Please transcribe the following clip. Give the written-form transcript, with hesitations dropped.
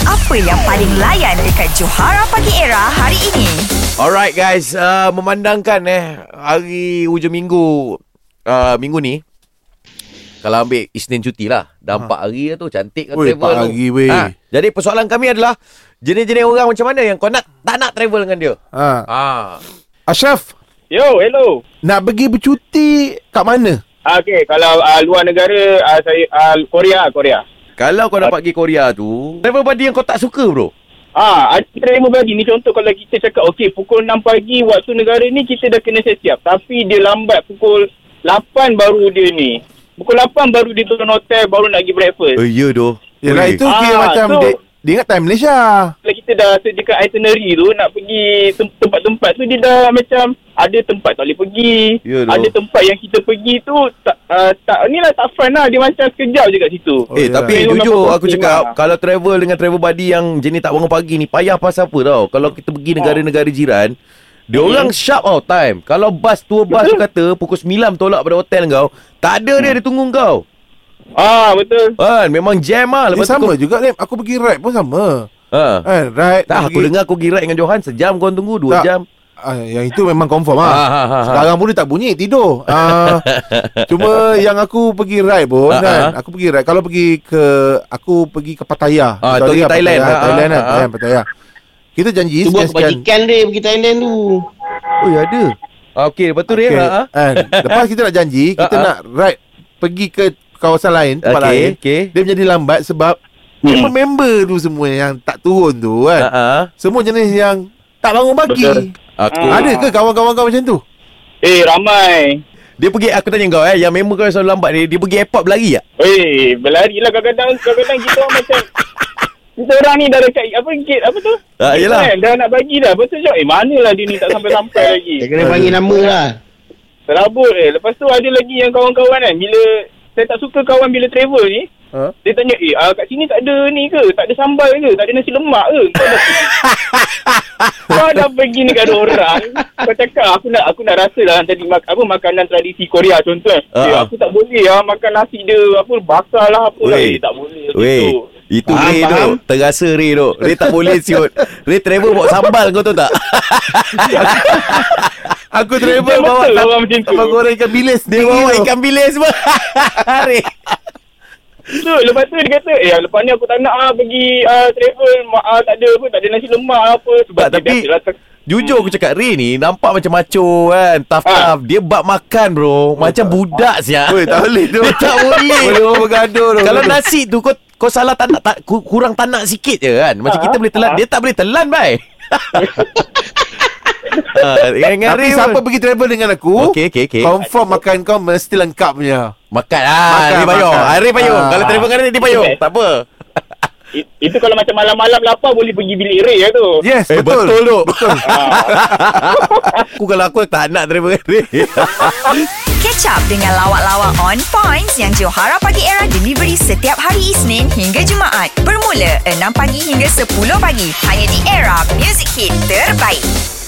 Apa yang paling layan dekat Johara Pagi Era hari ini? Alright guys, memandangkan hari hujung minggu minggu ni, kalau ambil Isnin cuti lah, dah 4 hari tu, cantik kan travel 4 hari weh. Jadi persoalan kami adalah jenis-jenis orang macam mana yang kau tak nak travel dengan dia. Ashraf, Yo, hello. nak pergi bercuti kat mana? Okey, kalau luar negara, saya Korea. Kalau kau dapat pergi Korea tu, travel buddy yang kau tak suka bro. Ada travel bagi ni, contoh kalau kita cakap okey pukul 6 pagi waktu negara ni kita dah kena siap. Tapi dia lambat pukul 8 baru dia ni. Pukul 8 baru dia turun hotel, baru nak pergi breakfast. Ya doh. Yelah, itu kira macam dia ingat time Malaysia. Kalau kita dah sediakan itinerary tu, nak pergi tempat-tempat tu, dia dah macam ada tempat tak boleh pergi. Ada tempat yang kita pergi tu tak fun lah. Dia macam sekejap je kat situ. Tapi jujur aku cakap, kalau travel dengan travel buddy yang jenis tak bangun pagi ni, payah pasal apa tau. Kalau kita pergi negara-negara jiran, dia orang sharp tau time. Kalau tour bus tu kata pukul 9 tolak pada hotel kau, tak ada dia tunggu kau. Betul. Memang jam lah. Lepas sama juga Lim. Aku pergi ride pun sama. Ride tak, aku dengar aku pergi ride dengan Johan, sejam kau tunggu, 2 jam. Yang itu memang confirm Sekarang pun dia tak bunyi, tidur. Cuma yang aku pergi ride pun kan, aku pergi ride, kalau aku pergi ke Pattaya. Itu pergi Thailand. Thailand kan, Pattaya. Kita janji tu buat kebajikan dia pergi Thailand tu. Oh ya ada. Okey, lepas tu dia lepas kita nak janji, kita nak ride pergi ke kawasan lain, tempat lain. Dia menjadi lambat sebab member tu semua yang tak turun tu kan. Semua jenis yang tak bangun pagi. Ada ke kawan-kawan kau macam tu? Ramai. Dia pergi, aku tanya kau yang member kau yang selalu lambat ni, dia pergi airport berlari tak? Berlari lah kadang-kadang kita orang macam kita orang ni dah dekat gate apa tu? Yelah. Dah nak bagi dah. Lepas tu cakap, manalah dia ni tak sampai-sampai lagi. Dia kena panggil nama lah. Terabut Lepas tu ada lagi yang kawan-kawan kan, bila saya tak suka kawan bila travel ni, dia tanya, kat sini tak ada ni ke? Tak ada sambal ke? Tak ada nasi lemak ke? Kau dah pergi negara orang, kau cakap aku nak rasa lah tadi makanan tradisi Korea contoh aku tak boleh makan nasi dia bakar lah tak boleh. Itu Ray tu, terasa Ray tu. Ray tak boleh siut. Ray travel bawa sambal, kau tahu tak? Aku travel bawa sambal goreng ikan bilis. Dia bawa ikan bilis semua. Ray. So, lepas tu dia kata, lepas ni aku tak nak pergi travel, tak ada nasi lemak apa. Sebab tapi jujur aku cakap, Ray ni nampak macam macho kan, tough. Dia bab makan bro, macam budak siap. Tak boleh tu. Dia tak boleh. Boleh bergaduh tu. Kalau nasi tu kau salah kurang tanak sikit je kan. Macam kita boleh telan, dia tak boleh telan bye. Tapi siapa pergi travel dengan aku, okay. confirm makan kau mesti lengkap punya. Makan Ray payung. Ray payung. Kalau travel dengan dia payung, tak apa. Itu kalau macam malam-malam lapar boleh pergi bilik Ray lah tu. Yes, betul tu. Betul. Aku tak nak travel dengan Ray. Catch up dengan lawak-lawak on points yang Johara Pagi Era delivery setiap hari Isnin hingga Jumaat. Bermula 6 pagi hingga 10 pagi. Hanya di Era Music Hit terbaik.